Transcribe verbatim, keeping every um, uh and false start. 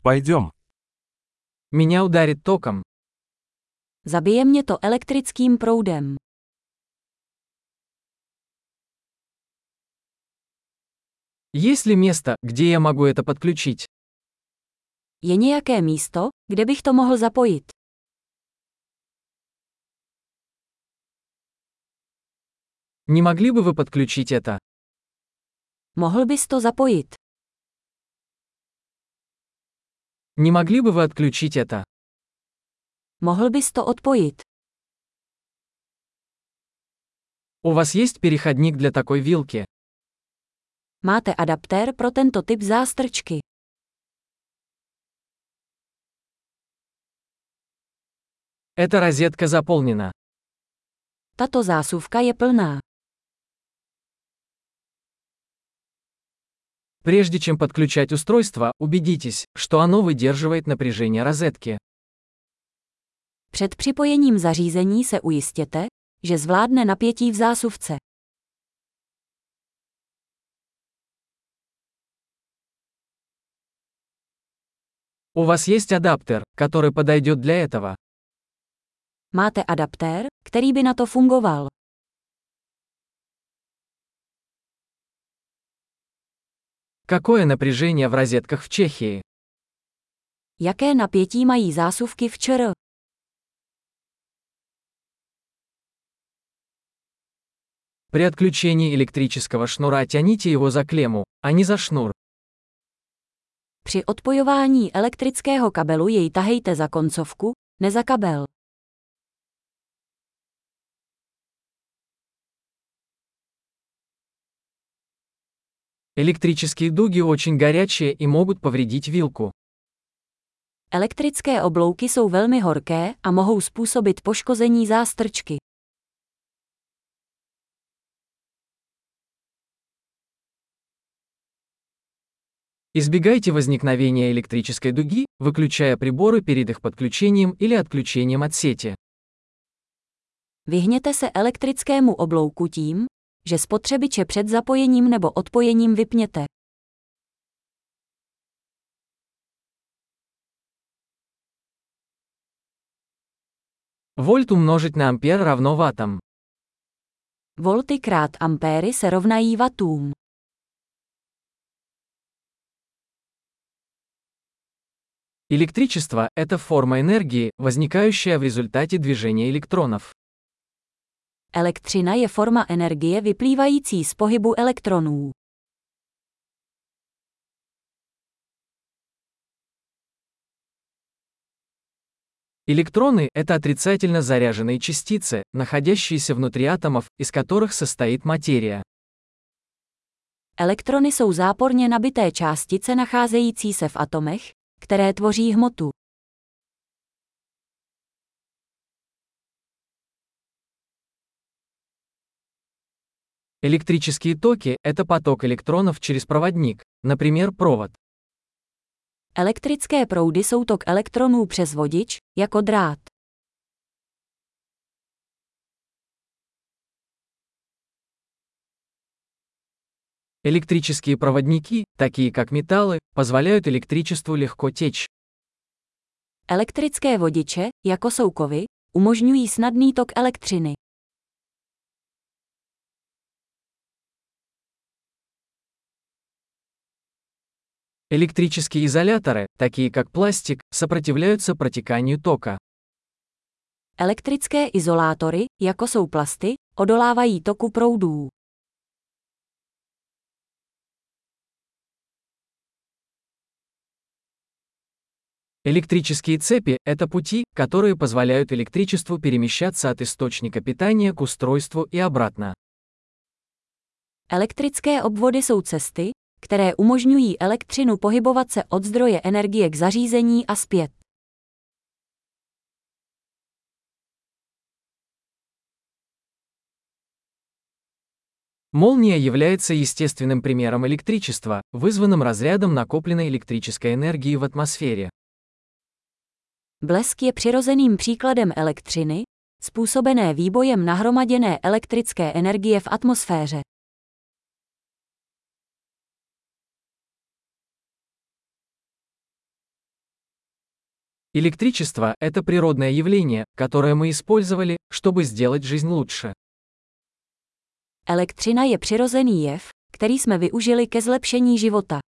Пойдем. Меня ударит током. Zabije mě to elektrickým proudem. Есть ли место, где я могу это подключить? Je nějaké místo, kde bych to mohl zapojit? Не могли бы вы подключить это? Mohl bys to zapojit? Не могли бы вы отключить это? Mohl bys to odpojit? У вас есть переходник для такой вилки? Máte adaptér pro tento typ zástrčky? Эта розетка заполнена. Tato zásuvka je plná. Прежде чем подключать устройство, убедитесь, что оно выдерживает напряжение розетки. Před připojením zařízení se ujistěte, že zvládne napětí v zásuvce. У вас есть адаптер, который подойдет для этого? Máte adaptér, který by na to fungoval? Какое напряжение в розетках в Чехии? Jaké napětí mají zásuvky v ČR? При отключении электрического шнура тяните его за клемму, а не за шнур. Při odpojování elektrického kabelu jej tahejte za koncovku, ne za kabel. Электрические дуги очень горячие и могут повредить вилку. Elektrické oblouky jsou velmi horké a mohou způsobit poškození zástrčky. Избегайте возникновения электрической дуги, выключая приборы перед их подключением или отключением от сети. Vyhněte se elektrickému oblouku tím, že spotřebiče před zapojením nebo odpojením vypněte. Вольт умножить на ампер равно ваттам. Volty krát ampéry se rovnají wattům. Электричество – это форма энергии, возникающая в результате движения электронов. Elektřina je forma energie vyplývající z pohybu elektronů. Электроны – это отрицательно заряженные частицы, находящиеся внутри атомов, из которых состоит материя. Elektrony jsou záporně nabité částice nacházející se v atomech, které tvoří hmotu. Электрические токи – это поток электронов через проводник, например, провод. Elektrické proudy jsou tok elektronů přes vodič, jako drát. Электрические проводники, такие как металлы, позволяют электричеству легко течь. Elektrické vodiče, jako jsou kovy, umožňují snadný tok elektřiny. Электрические изоляторы, такие как пластик, сопротивляются протеканию тока. Elektrické izolátory, jako jsou plasty, odolávají toku proudů. Электрические цепи – это пути, которые позволяют электричеству перемещаться от источника питания к устройству и обратно. Elektrické obvody jsou cesty, které umožňují elektřinu pohybovat se od zdroje energie k zařízení a zpět. Молния является естественным примером электричества, вызванным разрядом накопленной электрической энергии в атмосфере. Blesk je přirozeným příkladem elektřiny, způsobené výbojem nahromaděné elektrické energie v atmosféře. Электричество – это природное явление, которое мы использовали, чтобы сделать жизнь лучше. Elektřina je přirozený jev, který jsme využili ke zlepšení života.